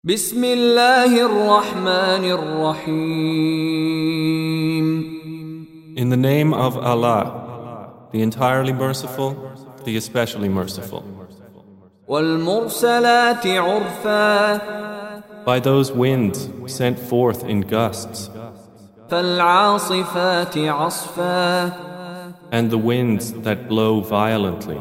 بسم الله الرحمن الرحيم. In the name of Allah, the entirely merciful, the especially merciful. والمرسلات عرفا By those winds sent forth in gusts, فالعاصفات عصفا and the winds that blow violently,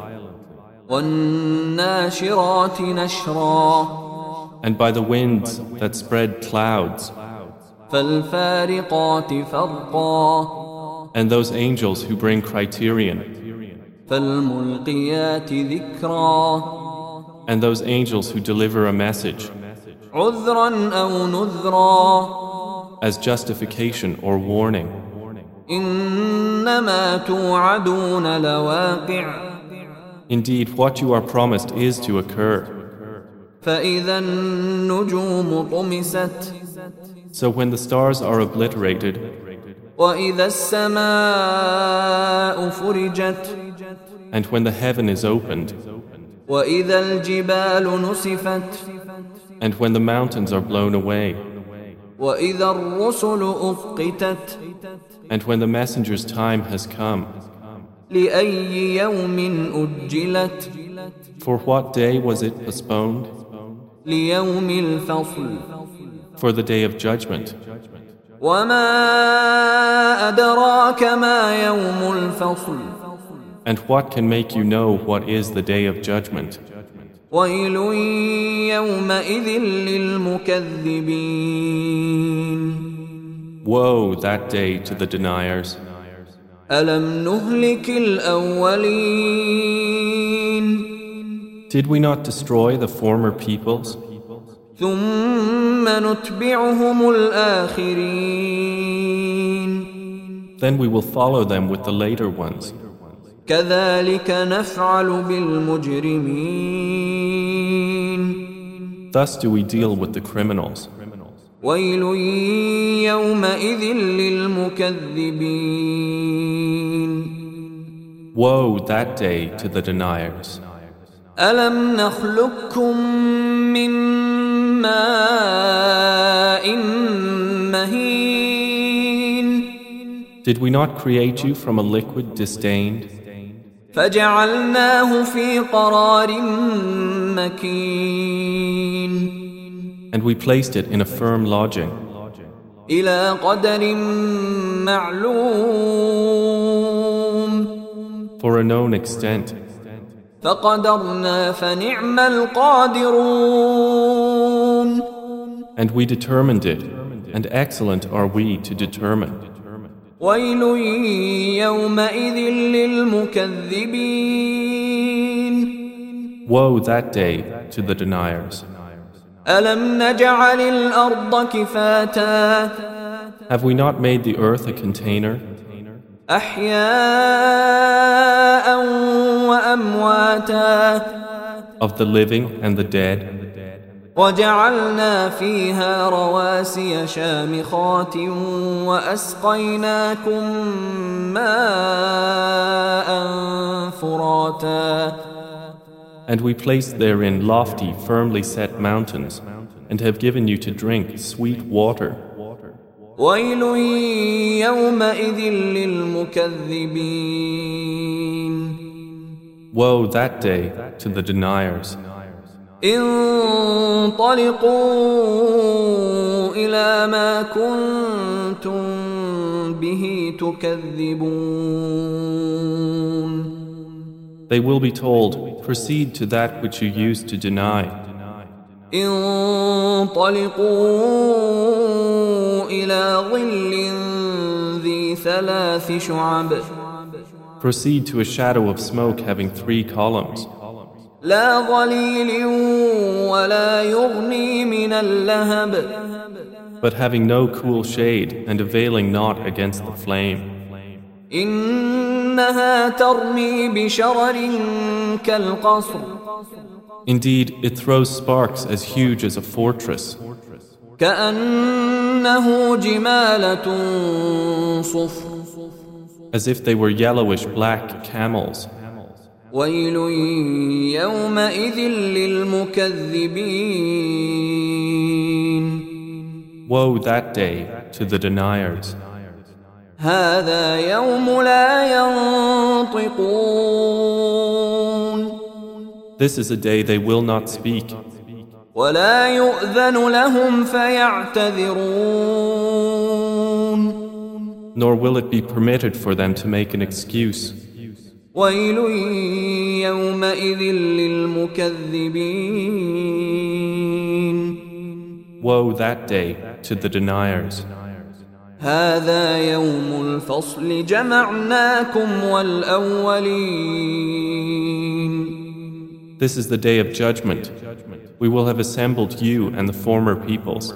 والناشرات نشرا and by the winds that spread clouds, فالفارقات فرقا and those angels who bring criterion, فالملقيات ذكرا and those angels who deliver a message عذرا أو نذرا as justification or warning. إنما توعدون لواقع Indeed, what you are promised is to occur. فإذا النجوم طمست So when the stars are obliterated, وإذا السماء فرجت and when the heaven is opened, وإذا الجبال نسفت and when the mountains are blown away, وإذا الرسل أقتت and when the messenger's time has come, لأي يوم أجلت for what day was it postponed? ليوم الفصل For the day of judgment. وما أدراك ما يوم الفصل And what can make you know what is the day of judgment? ويل يومئذ للمكذبين. Woe that day to the deniers. ألم نهلك الأولين Did we not destroy the former peoples? ثم نتبعهم الآخرين Then we will follow them with the later ones. كذلك نفعل بالمجرمين. Thus do we deal with the criminals. ويل يومئذ للمكذبين. Woe that day to the deniers. ألم نخلقكم من ماء مهين Did we not create you from a liquid disdained, فجعلناه في قرار مكين and we placed it in a firm lodging, إلى قدر معلوم for a known extent, فقدرنا فنعم القادرون. and we determined it, and excellent are we to determine. ويل يومئذ للمكذبين. Woe that day to the deniers. ألم نجعل الأرض كفاتا Have we not made the earth a container, أحياء وأمواتا of the living and the dead, وجعلنا فيها رواسي شامخات وأسقيناكم ماء فراتا and we placed therein lofty, firmly set mountains, and have given you to drink sweet water. ويل يومئذ للمكذبين. Woe that day to the deniers. انطلقوا إلى ما كنتم به تكذبون. They will be told, proceed to that which you used to deny. انطلقوا إلى ظل ذي ثلاث شعب. Proceed to a shadow of smoke having 3 columns, لا ظليل ولا يغني من اللهب. but having no cool shade and availing not against the flame. إنها ترمي بشرر كالقصر. Indeed, it throws sparks as huge as a fortress, كأنه جمالة صفر. as if they were yellowish black camels. ويل يومئذ للمكذبين Woe that day to the deniers. هذا يوم لا ينطقون This is a day they will not speak, ولا يؤذن لهم فيعتذرون nor will it be permitted for them to make an excuse. ويل يومئذ للمكذبين Woe that day to the deniers. هذا يوم الفصل جمعناكم والأولين This is the day of judgment. We will have assembled you and the former peoples.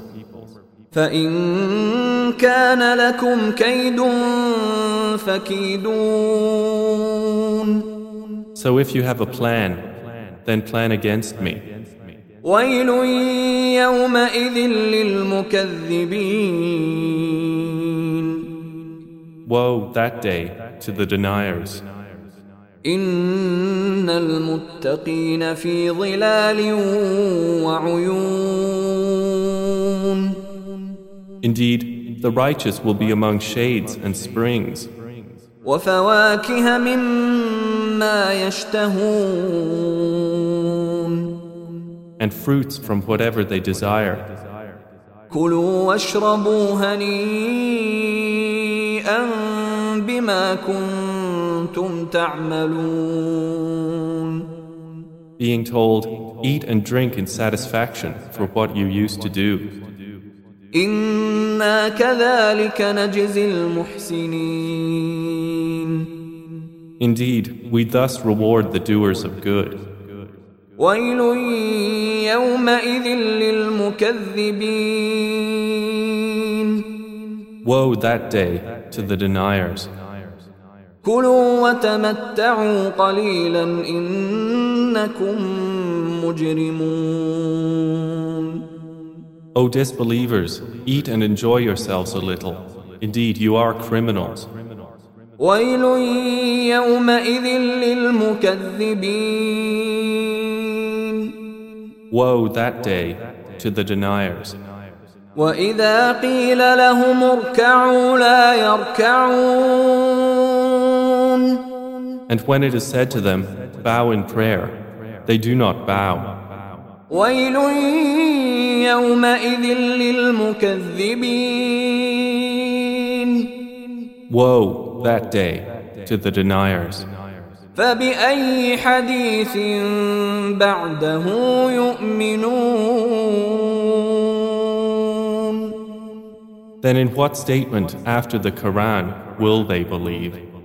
فإن كان لكم كيد فكيدون So if you have a plan, then plan against me. ويل يومئذ للمكذبين Woe that day to the deniers. إن المتقين في ظلال وعيون Indeed, the righteous will be among shades and springs, وفواكه مما يشتهون and fruits from whatever they desire. كلوا واشربوا هنيئا بما كنتم تعملون Being told, eat and drink in satisfaction for what you used to do. إنا كذلك نجزي المحسنين Indeed, we thus reward the doers of good. ويل يومئذ للمكذبين Woe that day to the deniers. كلوا وتمتعوا قليلا إنكم مجرمون O disbelievers, eat and enjoy yourselves a little. Indeed, you are criminals. ويل يومئذ للمكذبين Woe that day to the deniers. وإذا قيل لهم اركعوا لا يركعون And when it is said to them, bow in prayer, they do not bow. ويل يومئذ للمكذبين Woe that day to the deniers. فبأي حديث بعده يؤمنون Then in what statement after the Quran will they believe?